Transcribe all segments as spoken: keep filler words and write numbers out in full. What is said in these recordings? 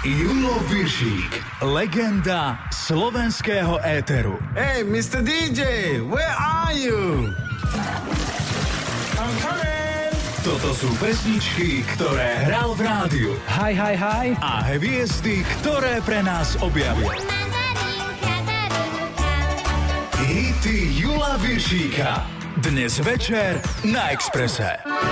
Julo Viršík, legenda slovenského éteru. Hey, mister dý džej, where are you? I'm coming! Toto sú pesničky, ktoré hral v rádiu. Hi, hi, hi. A hviezdy, ktoré pre nás objavil. Hity Jula Viršíka. Dnes večer na Expresse.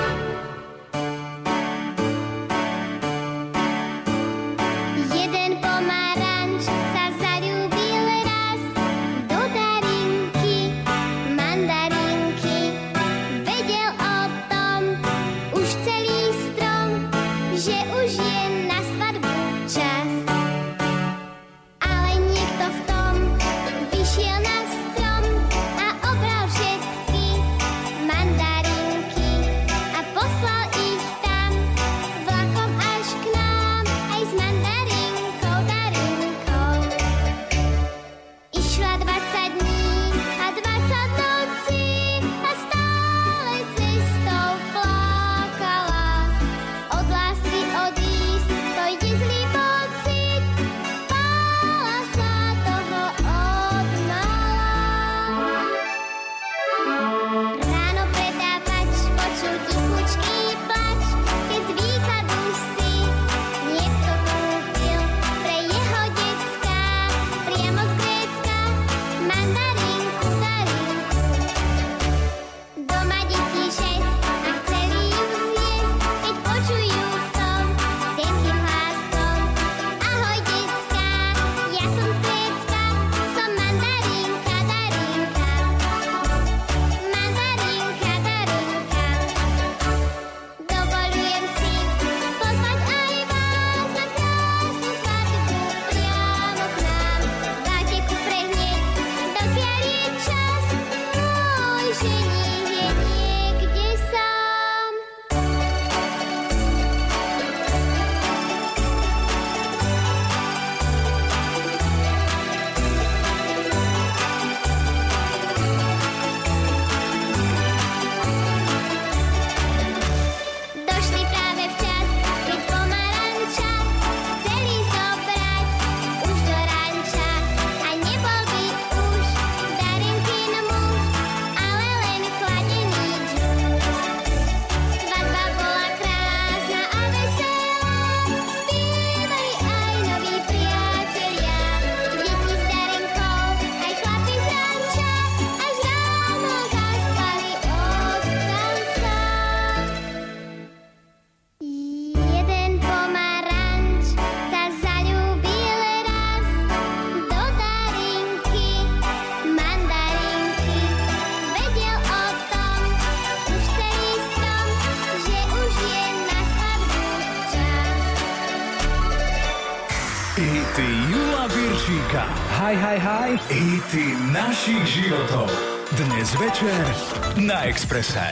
Hi, hi, hi. Hity našich životov. Dnes večer na Expresse.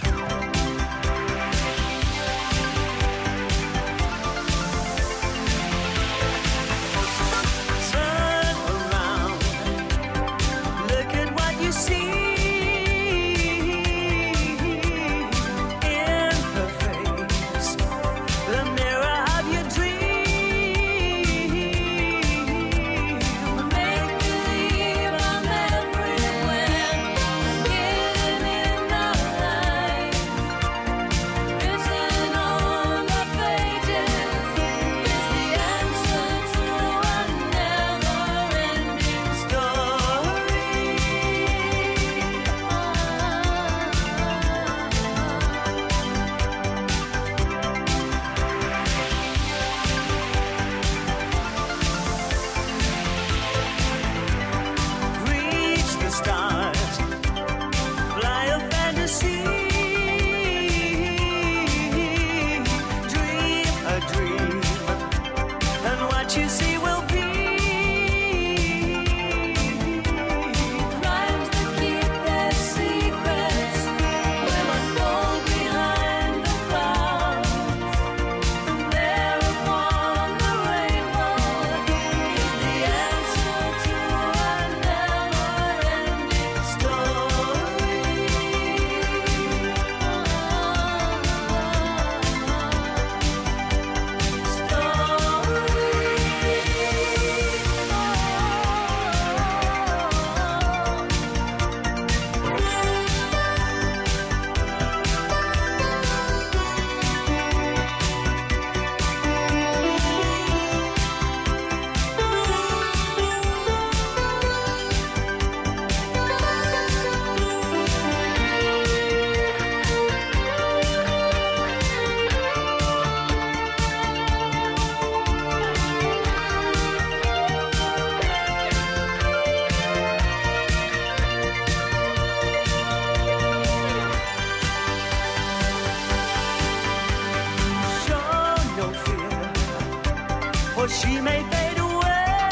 or she may fade away.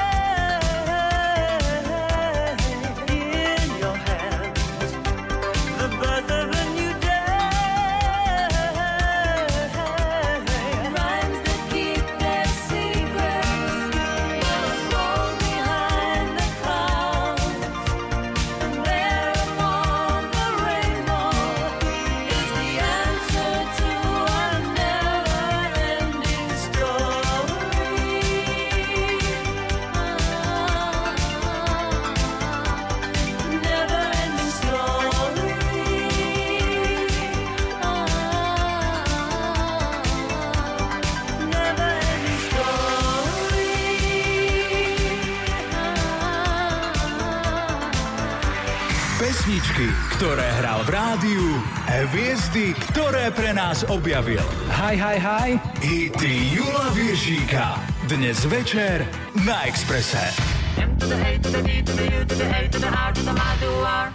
In your hands, the birth of a new day. Rhymes that keep their secrets will fall behind the clouds, and there among the rainbow is the answer to our never-ending story. Never-ending story. Never-ending story. Pesničky, ktoré hral v rádiu, hviezdy, ktoré pre nás objavil. Hi, hi, hi. Hity Jula Viršíka. Dnes večer na Expresse. M to the A to the D to the U to the A to the R to the M to the R.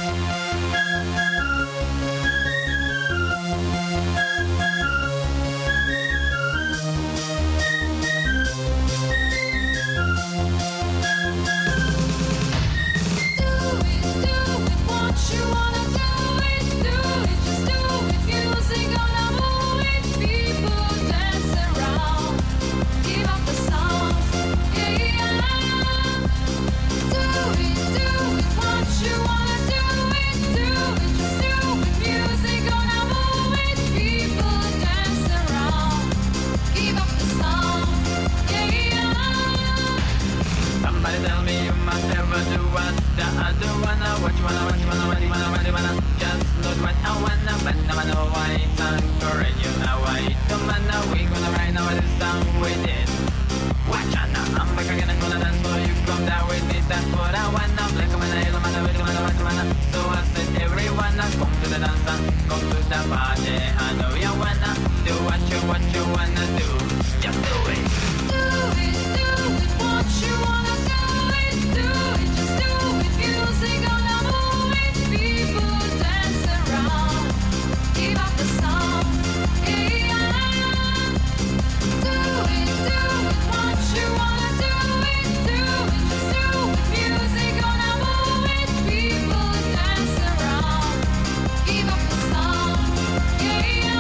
Somebody tell me you must ever do what the other wanna. What you wanna, what you wanna, what you wanna, what you wanna. Just not what I wanna, but now I know why it's encourage you now. I don't wanna, we gonna write now this song we did. Watch out now, I'm back again and gonna dance for you. Come down with it, that's what I wanna. Black man, I don't wanna, what you wanna, what you wanna. So I said everyone, come to the dance, come to the party. I know you wanna do what you, what you wanna do. Just do it. Do it, do it, what you wanna do it, do it, just do it. Music gonna move it, people dance around. Give up the song, yeah. Do it, do it, what you wanna do it, do it, just do it. Music gonna move it, people dance around. Give up the song, yeah.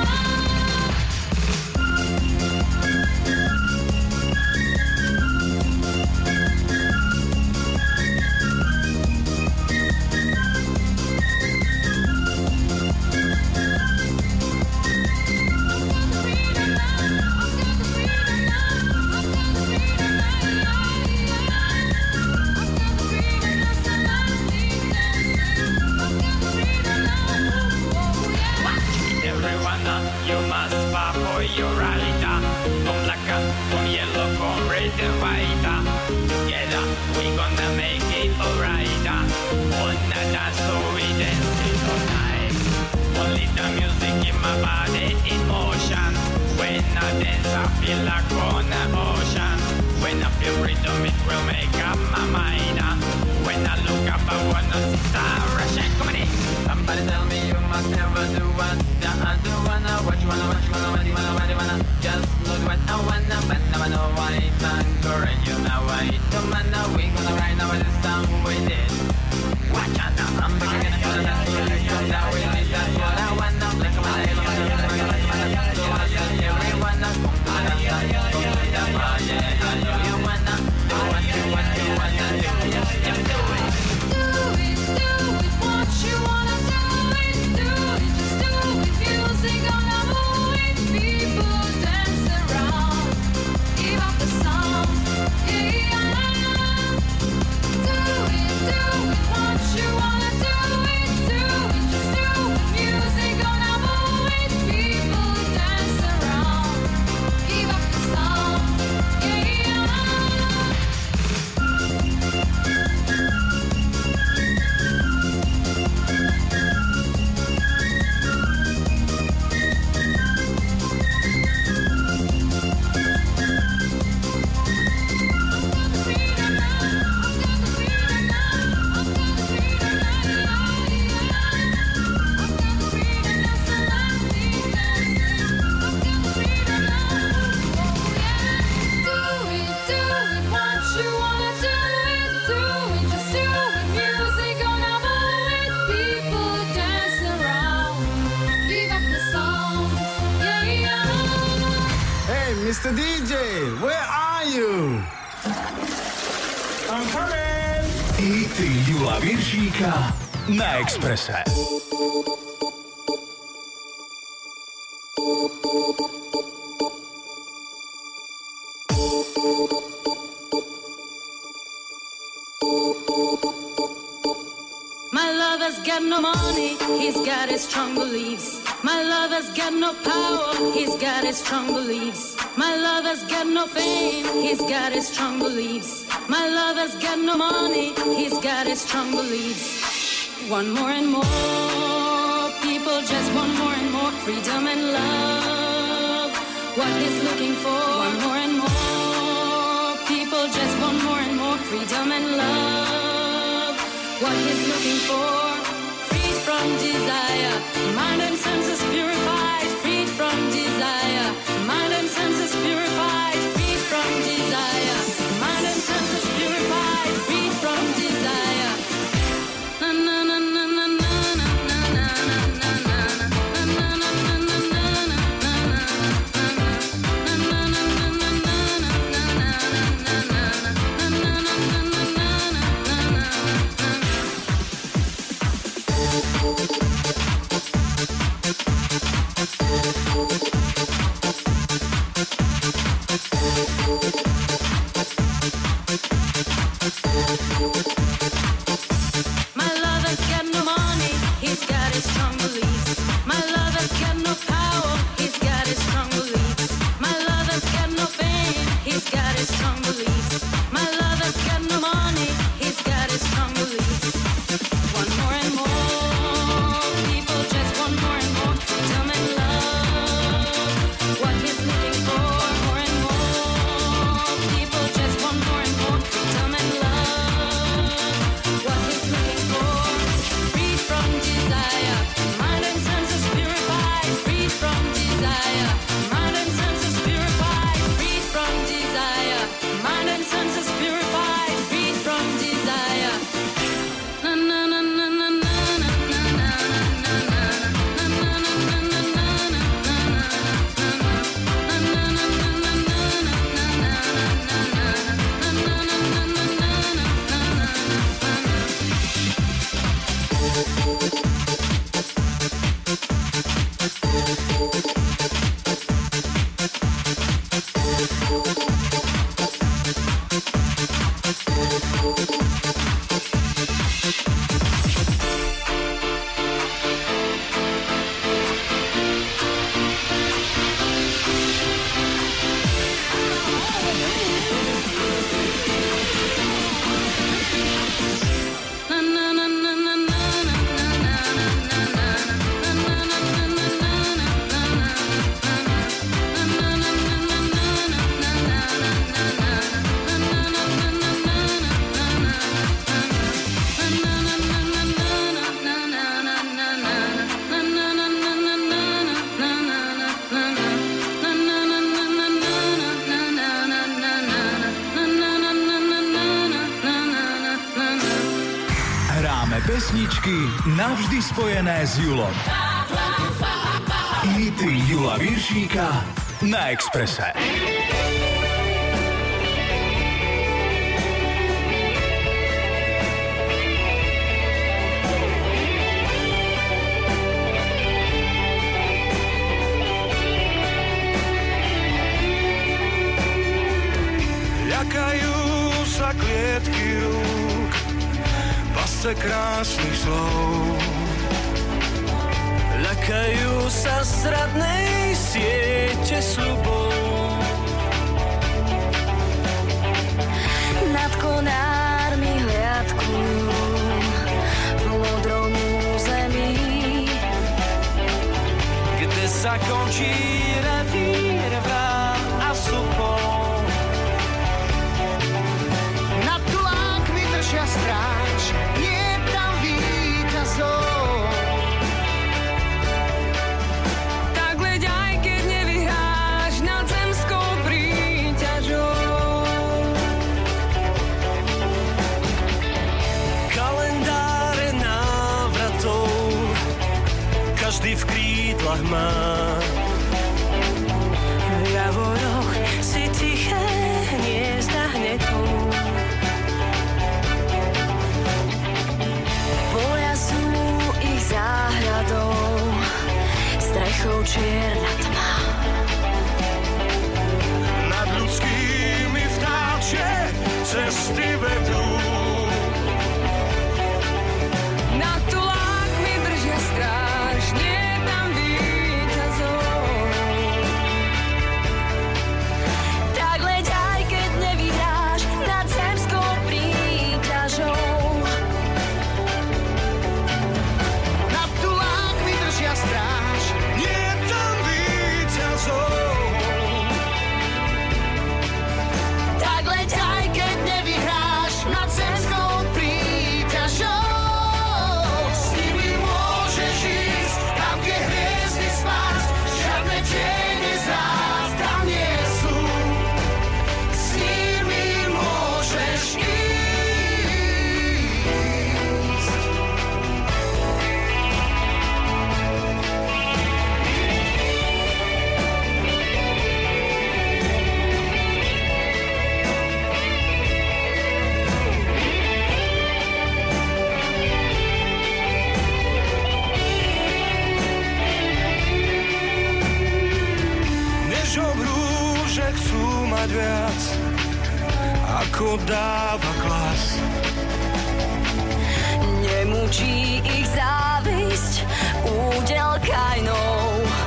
Everyone, you must fight for your right. Come black, come yellow, come red and white. Together we gonna make it alright. On the dance so we dance it all night. Only the music in my body in motion. When I dance I feel like on the ocean. When I feel rhythm it will make up my mind. When I look up I wanna see stars rushing. Come on in. Somebody tell me you must never do what the other wanna. What you wanna, what you wanna, what you wanna, what you wanna. Just not what I wanna, but now I know why it's encourage you now. I don't wanna, we gonna write now this song we did. Watch out now, I'm back again, I'm gonna dance for you. Come down with me, that's what I wanna. Black man, I don't wanna, what you wanna, what you wanna. So I said everyone, come to the dance, come to the party. I know you wanna do what you, what you wanna do. Just do it. Do it, do it, what you wanna do it, do it, just do it. Music gonna move it, people dance around. Give up the song, yeah. Do it, do it, what you wanna do it, do it, just do it. Music gonna move it, people dance around. Give up the song, yeah. mister dý džej, where are you? I'm coming! Hity Jula Viršíka na Expresse. My lover's got no money, he's got his strong beliefs. My lover's got no power, he's got his strong beliefs. My lover's got no fame, he's got his strong beliefs. My lover's got no money, he's got his strong beliefs. One more and more, people just want more and more freedom and love. What he's looking for, one more and more, people just want more and more freedom and love. What he's looking for, freed from desire, mind and senses purified, freed from desire, mind and senses purified, freed from desire, mind and senses purified, freed from desire. Na na na na na na na na na na na na na My lover's got no money, he's got his strong beliefs. My lover's got no power, he's got his strong beliefs. My lover's got no fame, he's got his strong beliefs. My lover's got no money, he's got his strong beliefs. One more and more, people just want more and more freedom and love. What he's looking for, more and more, people just want more and more freedom and love. What he's looking for, freed from desire, mind and senses purified, freed from desire, mind and senses purified, freed from desire, mind and senses purified, freed from desire. Na na na na na na na na na na Pesničky navždy spojené s Julom. Hity Jula Viršíka na Expresse. Ľakajú sa klietky rúk, pasce krásnych slov. Ľakajú sa zradnej siete sľubov. Nad konármi hliadkujú v modrom území, kde sa končí revír vrát a supov. Nad tulákmi držia stráž, nie tam víťazov. Tak leď aj keď nevyhráš nad zemskou príťažou. Kalendáre návratov každý v krídlach má. V javoroch viac, ako dáva klas. Nemučí ich závisť, údel kajnou.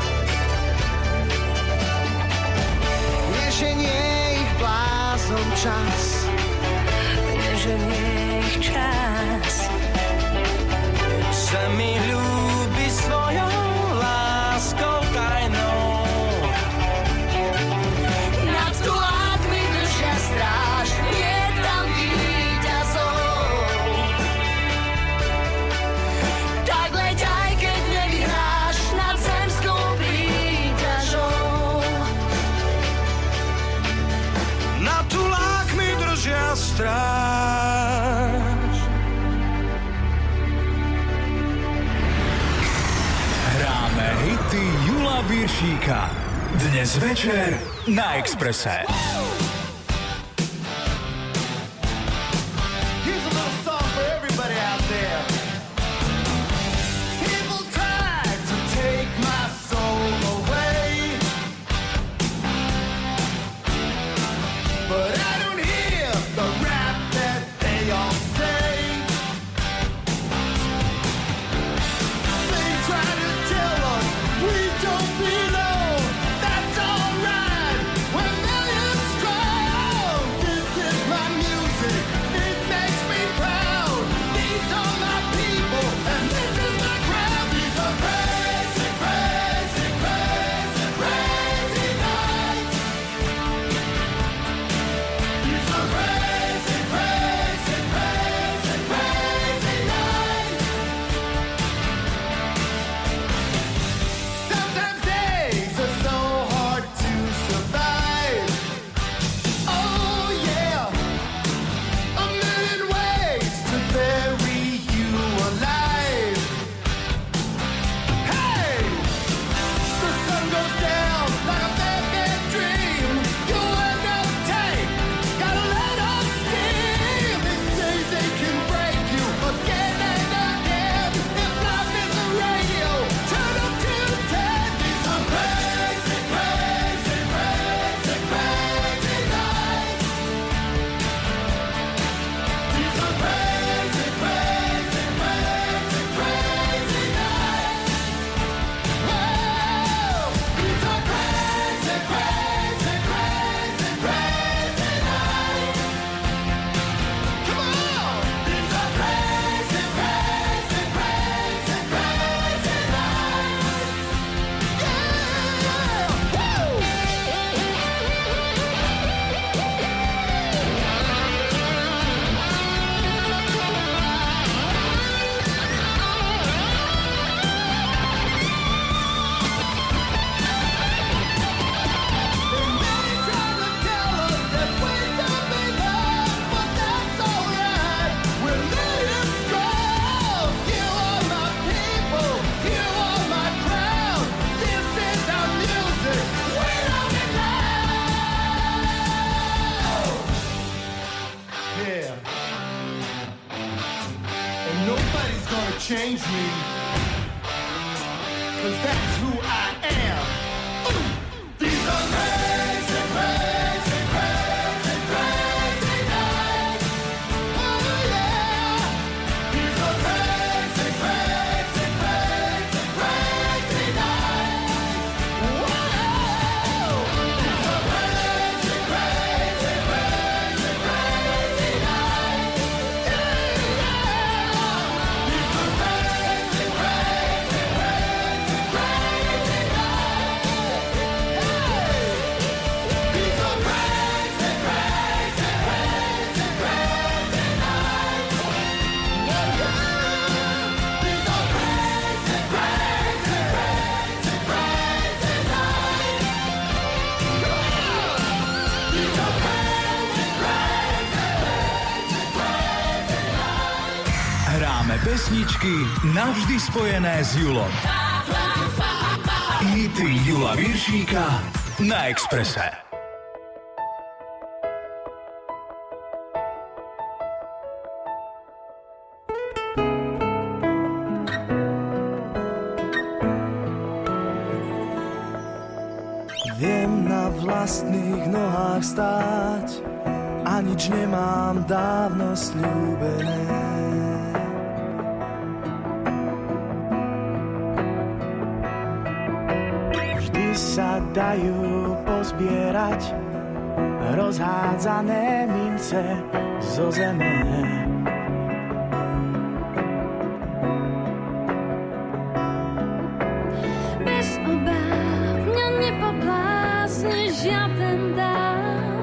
Neženie ich blázon čas, Neženie ich čas. sa mi ľúbi svojou láskou tajnou. Nad tulátmi držia stráž, je tam víťazov. Tak leď aj keď nevyhráš nad zemskou príťažou. Na tulákmi držia stráž. Hráme hity Jula Viršíka. Dnes večer na Expresse. Here's a little song for everybody out there. People tried to take my soul away, but I don't hear the rap that they all say. They try to tell us we don't belong. That's alright. We're millions strong. This is my music. It makes me proud. These are my people, and this is my crowd. These are crazy, crazy, crazy, crazy nights. These are crazy, crazy, crazy, crazy nights. Sometimes days are so hard to survive. Oh yeah, a million ways to bury you alive. Hey, the sun goes down like a bad, bad dream. You end up tight, gotta let off steam. They say they can break you again and again. If life is a radio, turn up to ten. These are crazy, crazy, crazy, crazy nights. These are crazy, crazy, crazy, crazy nights. Whoa, these are crazy, crazy, crazy, crazy nights. Come on, these are crazy, crazy, crazy, crazy nights. Yeah, woo. Change me, 'cause that's who I am. These are crazy, crazy, crazy, crazy nights. Oh yeah. These are crazy, crazy, crazy, crazy nights. Whoa. These are crazy, crazy, crazy, crazy nights. Yeah, yeah. These are crazy, crazy, crazy, crazy nights. These are crazy, crazy, crazy, crazy nights. Yeah, yeah. These are crazy, crazy, crazy, crazy nights. Yeah. These are crazy, crazy, crazy, crazy nights. Hráme pesničky navždy spojené s Julom. Hity Jula Viršíka na Expresse. Viem na vlast vlastných nohách stáť a nič nemám dávno sľúbené. Vždy sa dajú pozbierať rozhádzané mince zo zeme. Bez obáv mňa nepoblázni žiaden dáv.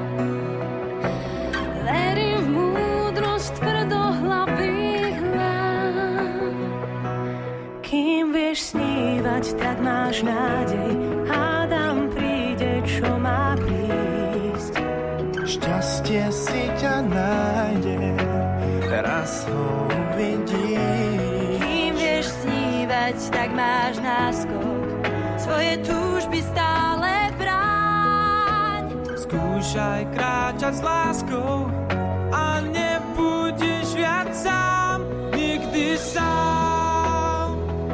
Verím v múdrosť tvrdohlavých hlav. Kým vieš snívať, tak máš nádej. Hádam, príde, čo má prísť. Šťastie si ťa nájde, raz ho uvidíš. Kým vieš snívať, tak máš náskok. Svoje túžby stále bráň. Skúšaj kráčať s láskou a nebudeš viac sám, nikdy sám.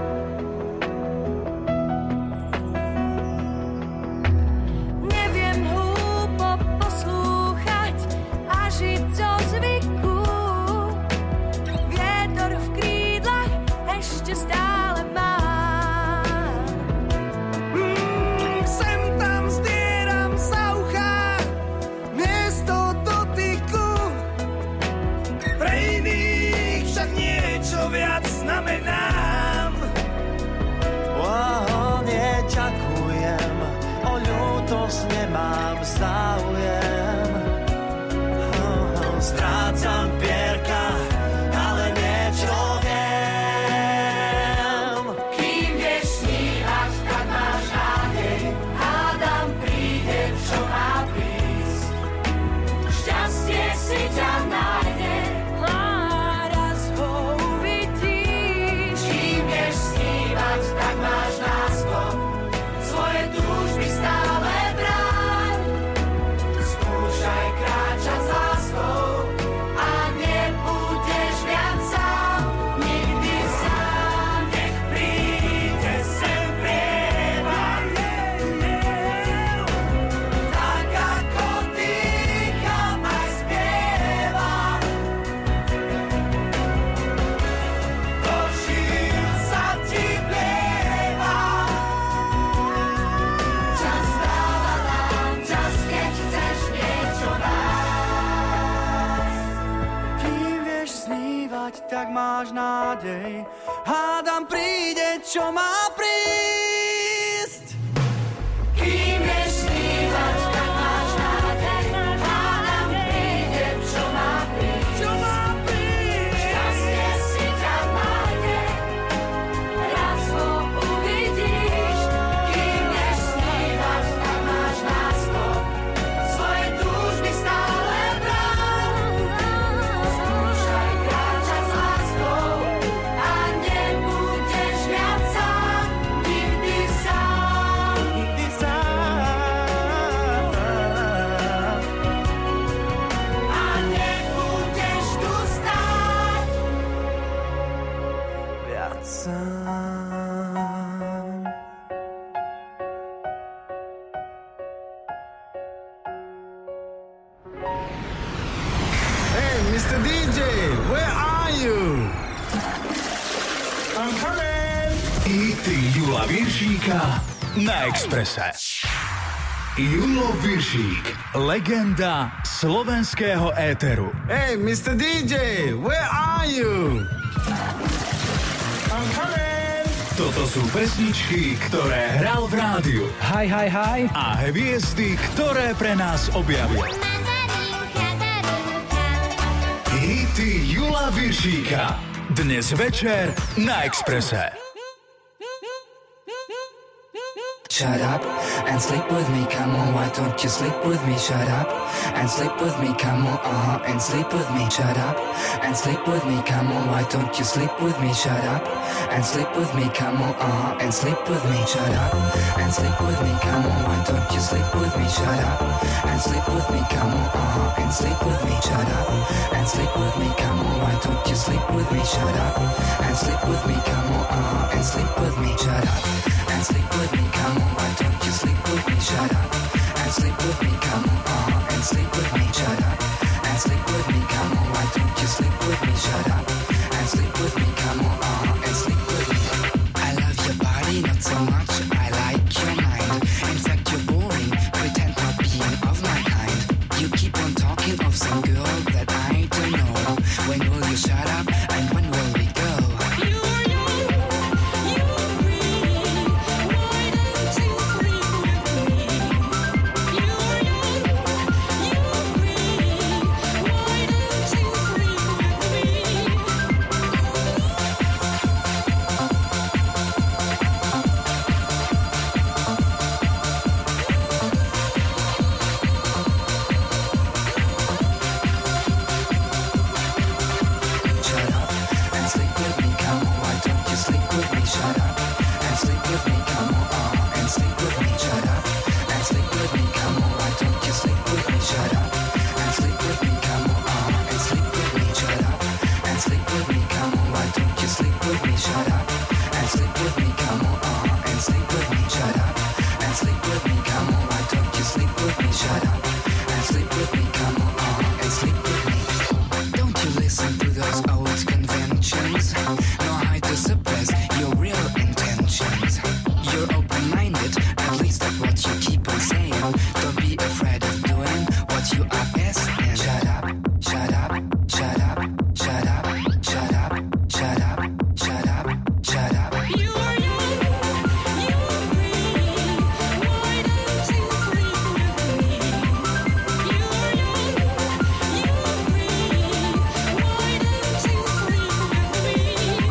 Neviem hlúpo poslúchať a žiť zo zvyku. Vietor v krídlach ešte stále mám. Mm, sem tam zdieram za ucha miesto dotyku. Pre iných však niečo viac znamenám. Wow, neďakujem, o ľútosť nemám záujem. Oh, oh, strácam pierka, ale niečo viem. Kým vieš snívať, tak máš nádej. Hádam, príde, čo má prísť. Šťastie si ťa nájde. A raz ho uvidíš. Kým vieš snívať, tak máš náskok. Svoje túžby stále bráň. Skúšaj kráčať s láskou a nebudeš viac sám, nikdy sám. Nech príde sem prievan, tak ako dýcham aj spievam. Do žil sa ti vlieva. Čas dáva nám čas, keď chceš niečo nájsť. Kým vieš snívať, tak máš nádej. Hádam, príde, čo má prísť. Kým vieš snívať, tak máš nádej. Hádam, príde, čo má prísť. Čo má prísť? Šťastie si ťa nájde. Raz ho uvidíš. Kým vieš snívať, tak máš náskok. Svoje túžby stále bráň. Skúšaj kráčať s láskou a nebudeš viac sám, nikdy sám. Nikdy sám. A nebudeš tu stáť. Viac sám. Hey, mister dý džej, where are you? I'm coming. Hity Jula Viršíka na Expresse. Julo Viršík, legenda slovenského éteru. Hey, mister dý džej, where are you? I'm coming. Toto sú pesničky, ktoré hral v rádiu Hi, hi, hi. a hviezdy, ktoré pre nás objavil. Hity Jula Viršíka. Dnes večer na Expresse. Shut up and sleep with me, come on, why don't you sleep with me? Shut up and sleep with me, come on, uh-huh, and sleep with me. Shut up and sleep with me, come on, why don't you sleep with me? Shut up and sleep with me, come on, uh-huh, and sleep with me. Shut up and sleep with me, come on, why don't you sleep with me? Shut up and sleep with me, come on, uh-huh, and sleep with me. Shut up and sleep with me, come on, why don't you sleep with me? Shut up and sleep with me, come on, uh-huh, and sleep with me. Shut up and sleep with me, come on, why don't you sleep with me? Shut up and sleep with me, shut up and sleep with me, come on, why don't you sleep with me, shut up and sleep with me, come on, uh-huh, and sleep with me. I love your body, not so much, I like your mind. In fact, you're boring, pretend not being of my kind. You keep on talking of some girl that I don't know. When will you shut up and when will we go? You are young, you are free, why don't you sleep with me? You are young, you are free, why don't you sleep with me? Shut up and sleep with me, come on, why don't you sleep with me? Shut up and sleep with me, come on, uh-huh, and sleep with me. Shut up and sleep with me, come on, why don't you sleep with me? Shut up and sleep with me, come on, uh-huh, and sleep with me. Shut up and sleep with me, come on, why don't you sleep with me? Shut up and sleep with me, come on, uh-huh, and sleep with me. Shut up and sleep with me, come on, why don't you sleep with me? Shut up and sleep with me, come on, uh-huh, and sleep with me. Don't you listen to those old conventions, nor hide to suppress your real intentions. You're open-minded, at least that's what you keep on saying. Don't be afraid of doing what you are best in. Shut up, shut up, shut up, shut up, shut up, shut up, shut up, shut up. You are young, you are free, why don't you sleep with me? You are young, you are free, why don't you sleep with me?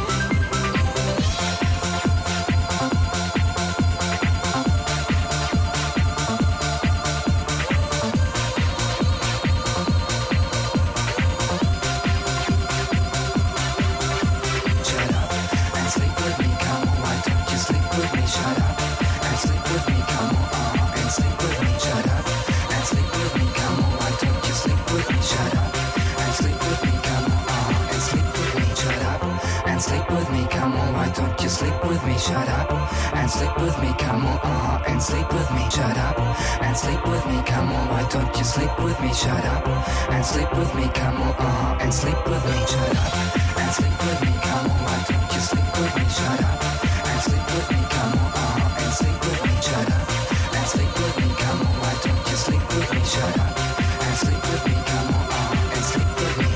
Shut up and sleep with me, come on, why don't you sleep with me? Shut up and sleep with me, come on, uh-huh, and sleep with me. Shut up and sleep with me, come on, why don't you sleep with me? Shut up and sleep with me, come on, uh-huh, and sleep with me. Shut up and sleep with me, come on, why don't you sleep with me? Shut up and sleep with me, come on, uh-huh, and sleep with me. Shut up and sleep with me, come on, why don't you sleep with me? Shut up and sleep with me, come on, uh-huh, and sleep with me. Shut up and sleep with me, come on, why don't you sleep with me? Shut up and sleep with me, come on, uh-huh, and sleep with me. Shut up and sleep with me, come on, why don't you sleep with me? Shut up and sleep with me, come on, uh-huh, and sleep with me.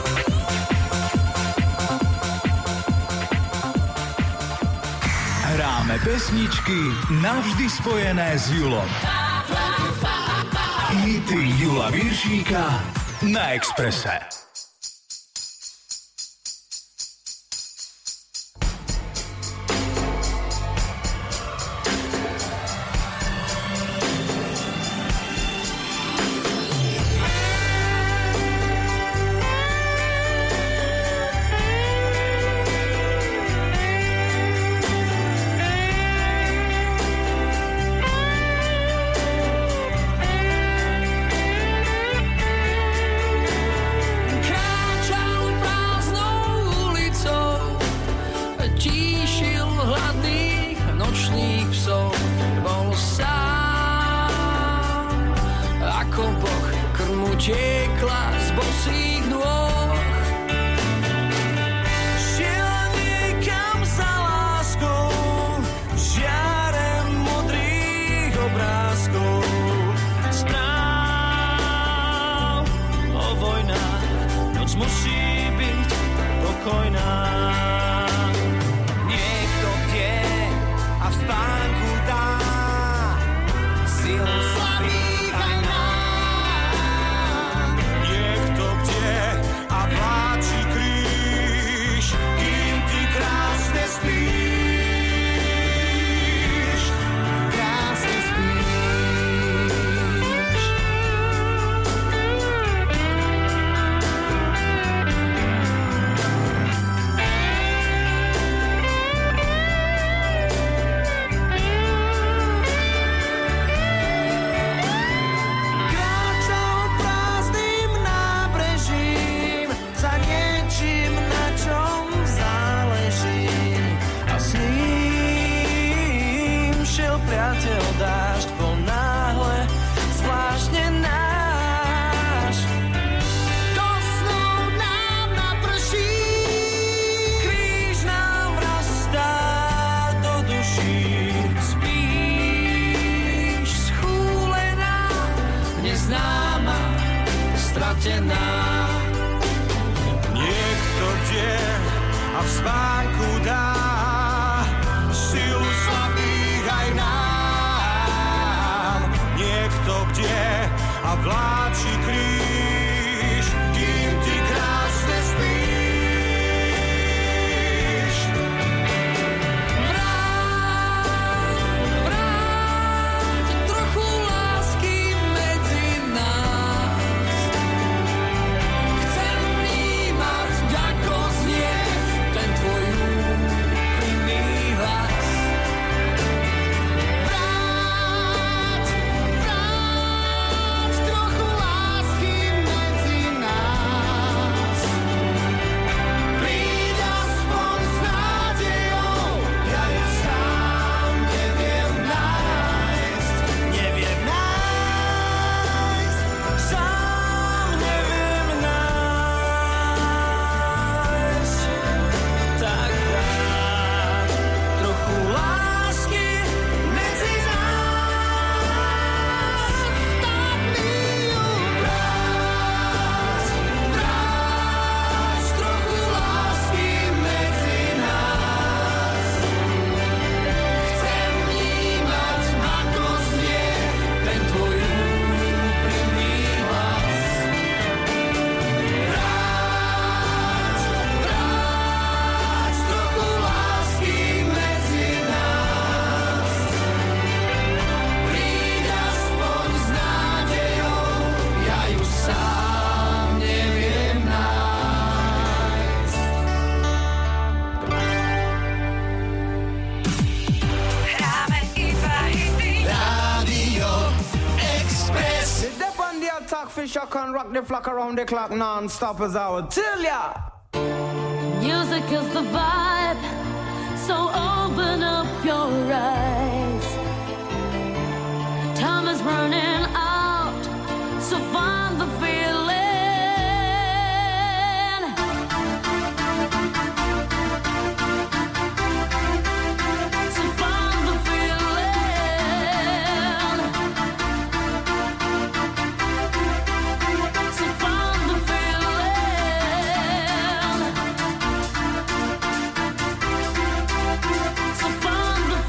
Hráme pesničky navždy spojené s Julom. Hity Jula Viršíka na Expresse. Krásne spíš. Niekto kde a v spánku dá silu slabých aj nám. Niekto kde a vláči kríž, kým ty krásne spíš. Vráť, vráť trochu lásky medzi nás. Chcem vnímať, ako znie ten tvoj úprimný hlas. Vráť, vráť trochu lásky medzi nás. Príď aspoň s nádejou, ja ju sám neviem nájsť. Neviem nájsť, sám neviem nájsť. Tak vráť trochu lásky medzi nás. Tak mi ju vráť, vráť trochu lásky medzi nás. Chcem vnímať, ako znie ten tvoj úprimný hlas. Vráť, vráť trochu lásky medzi nás. Príď aspoň s nádejou, ja ju sám neviem nájsť. Hráme iba hity. Radio Express. Sit up on the attack, fish, I can rock the flock around the clock non-stop as I would tell ya. Music is the vibe, so open up your eyes. Time is running out, so find the feeling. So find the feeling. So find the feeling. So find the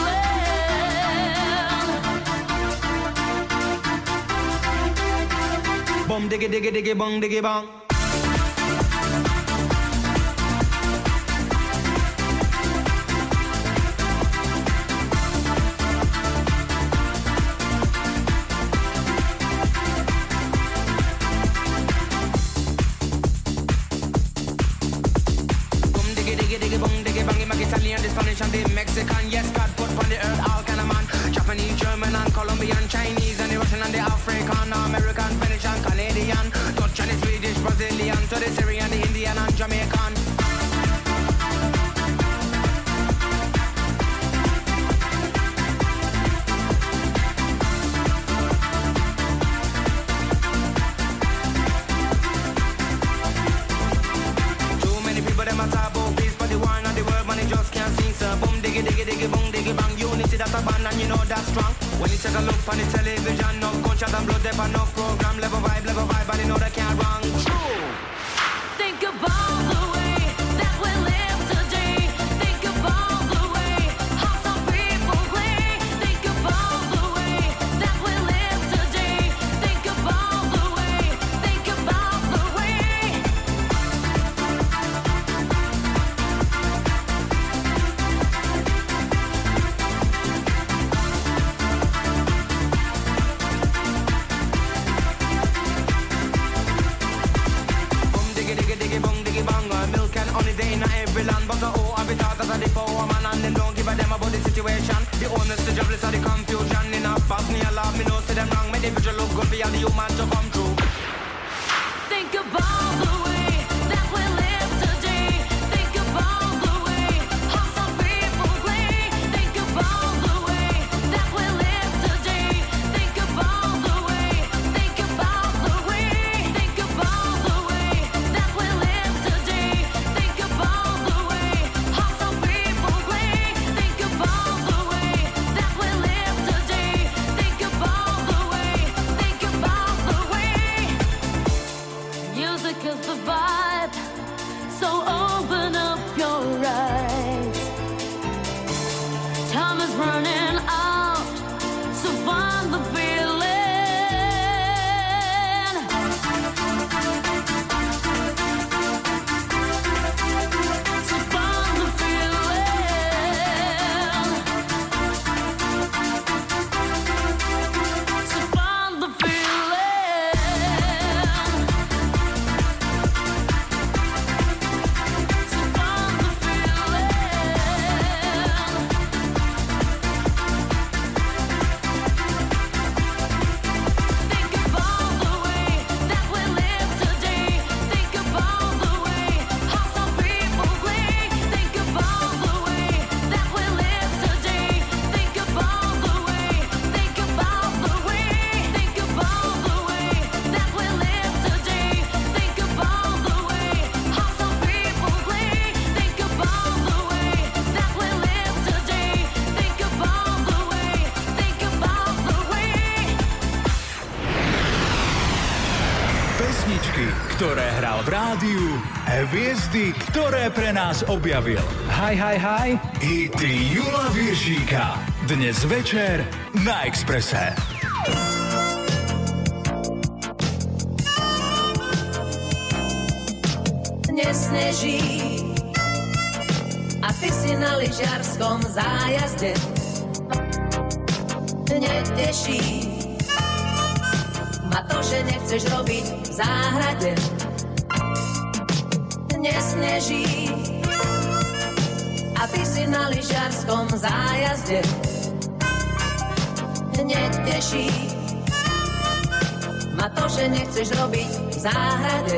feeling. Bum diggy diggy diggy bong diggy bong. Bum diggy diggy diggy bong diggy bang. Him a Italian, the Spanish and the Mexican. Yes, God put on the earth all kind of man. Japanese, German and Colombian, Chinese and the Russian and the African, American, Venetian, Canadian, Dutch and the Swedish, Brazilian, to the Syrian, the Indian and Jamaican. Too many people them a talk about peace, but the war and the world, man, they just can't sing. So boom diggy diggy diggy boom diggy bang. Unity that's a band and you know that's strong. When you take a look on the television, no gunshot and blood, there for no program, level vibe, level vibe, and you know they can't wrong. True. Think about the way that we live today. Think about the way how some people play. Think about the way that we live today. Think about the way. Think about the way. Bum diggy diggy diggy bong diggy bang. Uh, Milk and honey day in every land, but uh, oh, every thought that the power man and them don't give a damn about the situation. The owners, the jobless, and the confusion. In a past me a love, me know see them wrong. Me the future look good for all the human to come true. Think about the way that we live today. Think about the way how some people play. Think about the way that we live today. Think about the way. Think about the way. Think about the way that we live today. Think about the way how some people play. Think about the way that we live today. Think about the way. Think about the way. kills the vibe. So open up your eyes. Time is running out, so find the feeling. So find the feeling. So find the Pesničky, ktoré hral v rádiu, hviezdy, ktoré pre nás objavil. Hi, hi, hi. Hity Jula Viršíka. Dnes večer na Expresse. Nesneží a ty si na lyžiarskom zájazde. Neteší ma to, že nechceš robiť v záhrade. Nesneží a ty si na lyžiarskom zájazde. Neteší ma to, že nechceš robiť v záhrade.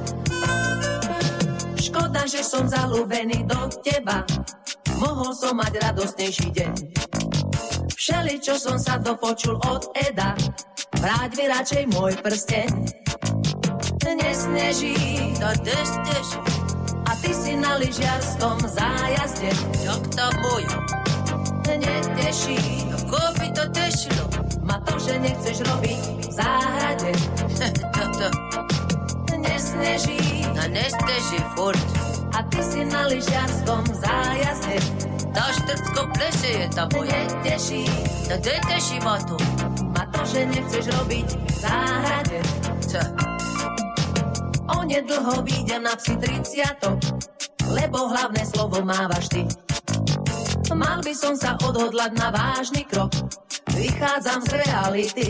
Škoda, že som zalúbený do teba, mohol som mať radostnejší deň. Všeli, čo som sa dopočul od Eda, vráť mi radšej môj prsteň. Nesneží, to deštež, a ty si na lyžiarskom zájazde. Jak to môj? Neteší, ako by to tešilo? Ma to, že nechceš robiť v záhrade. Toto nesneží, no nesteží furt. A ty si na lyžiarskom zájazde. Tá štrcko pleše je tá moja. Neteší, no neteší ma to. Ma to, že nechceš robiť v záhrade. Čo? Onedlho výjdem na psi tridsiatok, lebo hlavné slovo mávaš ty. Mal by som sa odhodlať na vážny krok, vychádzam z reality.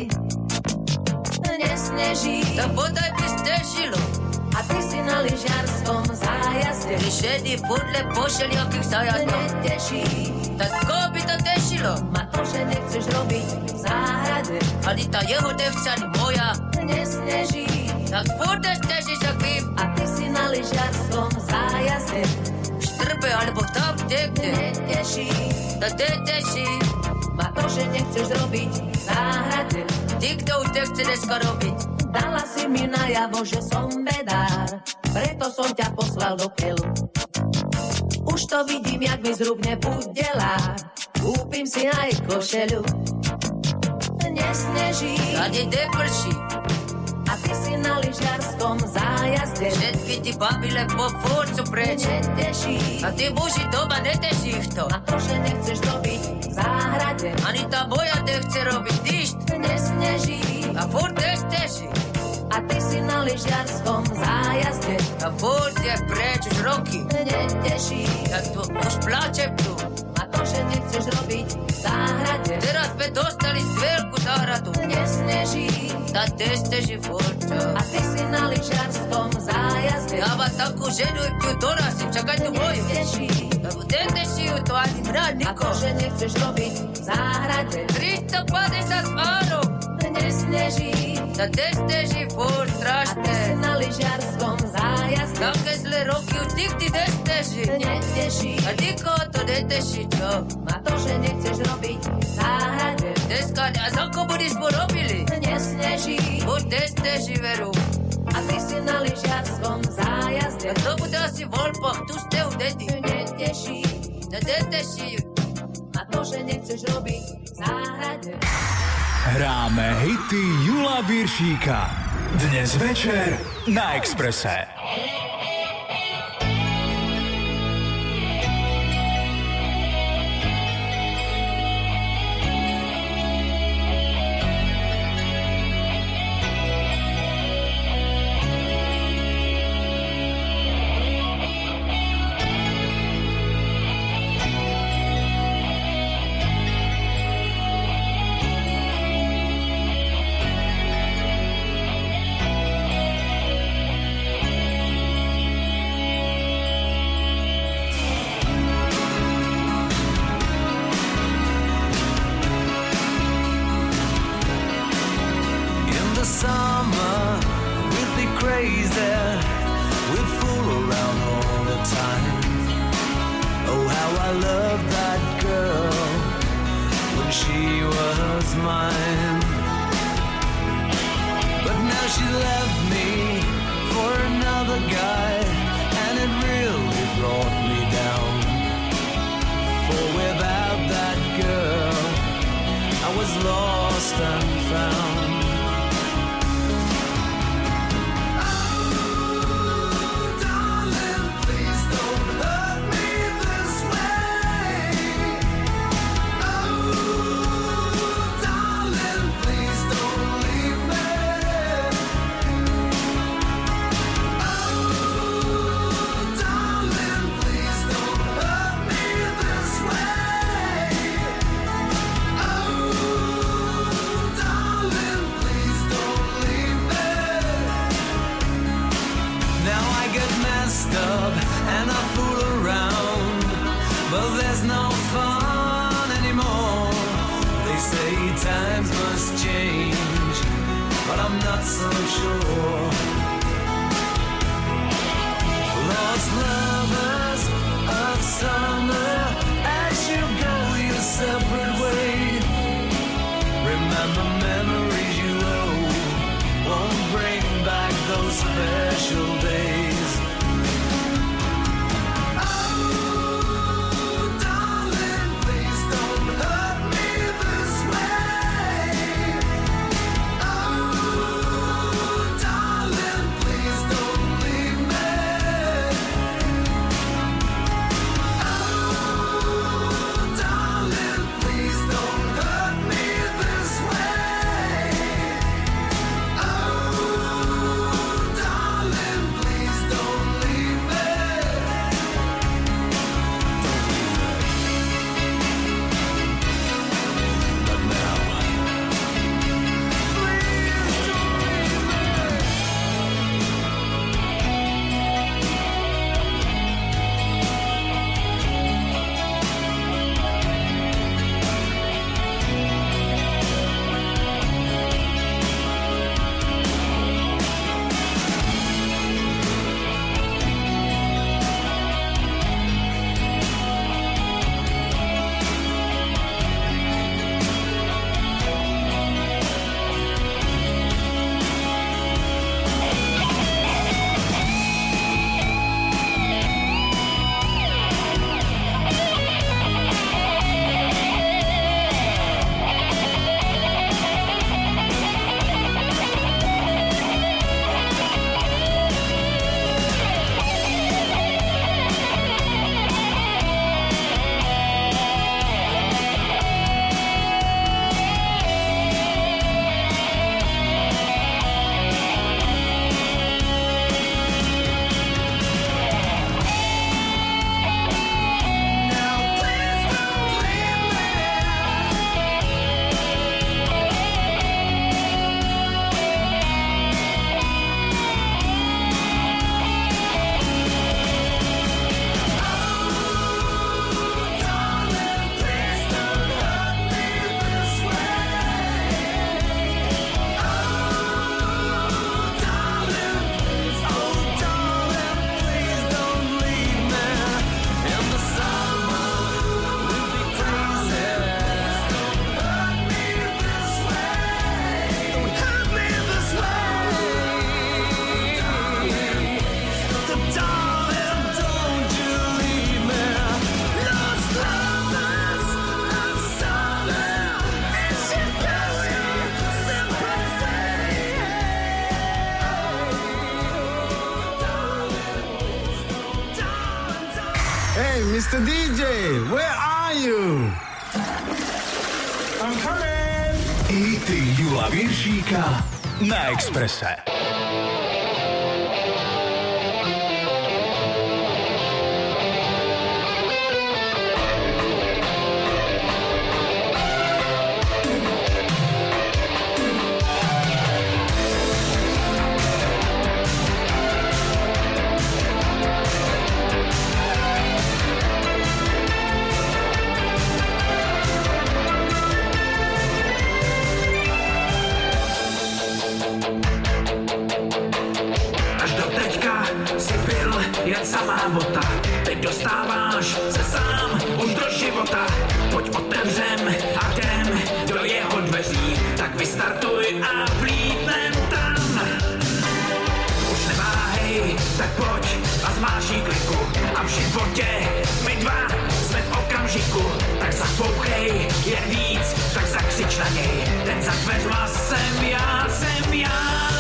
Nesneží, to bodaj by stežilo, a ty si na lyžiarskom zájazde. Ty šedý podľa pošeliakých zájazdov. Neteší, tak koho by to tešilo? Ma to, že nechceš robiť v záhrade. Ale tá jeho devča ni moja. Nesneží, tak furt stežíš ak vím. A ty si na lyžiarskom zájazde. Štrbe alebo tam dekde. Neteší, to neteší. Ma to, že nechceš robiť v záhrade. Ty, kto už nechce dneska robiť. Dala si mi najavo, že som bedár, preto som ťa poslal do keľu. Už to vidím, jak mi zrubne budelár, kúpim si aj košeľu. Nesneží, ani neprší, a ty si na lyžiarskom zájazde. Všetky ti babi len po fúrcu preč. Neteší, a ty muži doma neteší ich to. A to, že nechceš robiť v záhrade. Ani tá moja nechce robiť dyšt. Nesneží, a furt nesteží. A ty si na lyžiarskom zájazde. A furt je preč už roky. Neteší, a tu už plačem tu. A to, že nechceš robiť v záhrade. Teraz sme dostali veľkú záhradu. Nesneží, tá nesteží furt, čo? A ty si na lyžiarskom zájazde. Ja mám takú ženu, ju dorazím, čakaj tu moju. Neteší, neteší ju to ani mráť, niko. A to, že nechceš robiť v záhrade. tristopäťdesiat árov. Nesneží, to nesteží furt strašné. A ty si na lyžiarskom zájazde. Také zlé roky už nikdy nesteží. Neteší, a nikoho to neteší, čo? A to, že nechceš robiť v záhrade. Dneska, a za komunizmu robili. Nesneží, furt nesteží, veru. A ty si na lyžiarskom zájazde. A to bude asi voľbách, tu ste u dedi. Neteší, to neteší. A to, že nechceš robiť v záhrade. Hráme hity Jula Viršíka. Dnes večer na Expresse. Darling, Hey, mister dý džej, where are you? I'm coming! Hity Jula Viršíka na Expresse. Jen samá bota, teď dostáváš se sám už do života. Pojď otevřem a jdem do jeho dveří, tak vystartuj a vlítnem tam. Už neváhej, tak pojď a zmáší kliku. A v životě my dva jsme v okamžiku, tak zapouchej jen víc, tak zakřič na něj. Ten za dveřma jsem já, jsem já.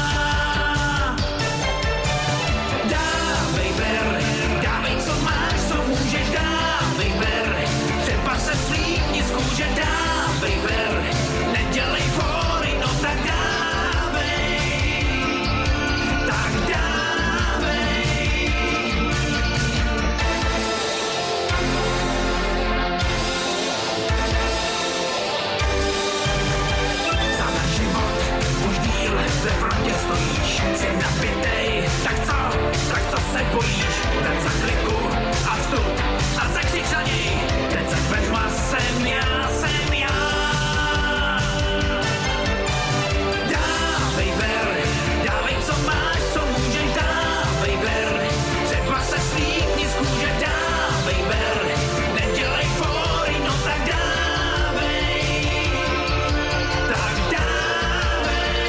Dávej, co máš, co můžeš, dávej ber. Třeba se slíkni z kůže, dávej ber. Nedělej fóry, no tak dávej. Tak dávej. Za náš život už díl ve frontě stojíš. Jsi napětej, tak co? Tak co se bojíš? Ten za kliku a vstup a zakřič na něj. Ten za dveřma jsem já, jsem já. Dávej ber, dávej co máš, co můžeš, dávej ber. Třeba se slíkni z kůže, dávej ber. Nedělej fóry, no tak dávej. Tak dávej.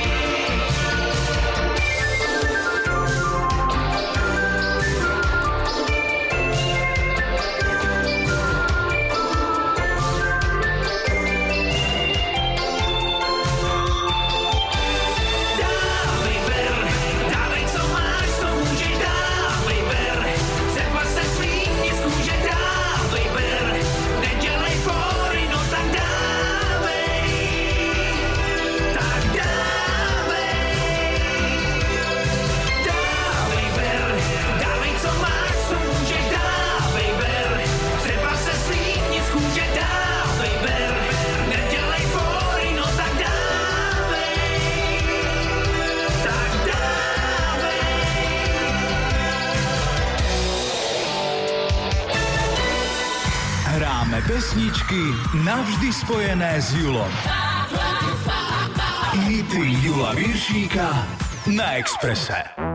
Hráme pesničky navždy spojené s Julom. Hity Jula Viršíka na Expresse.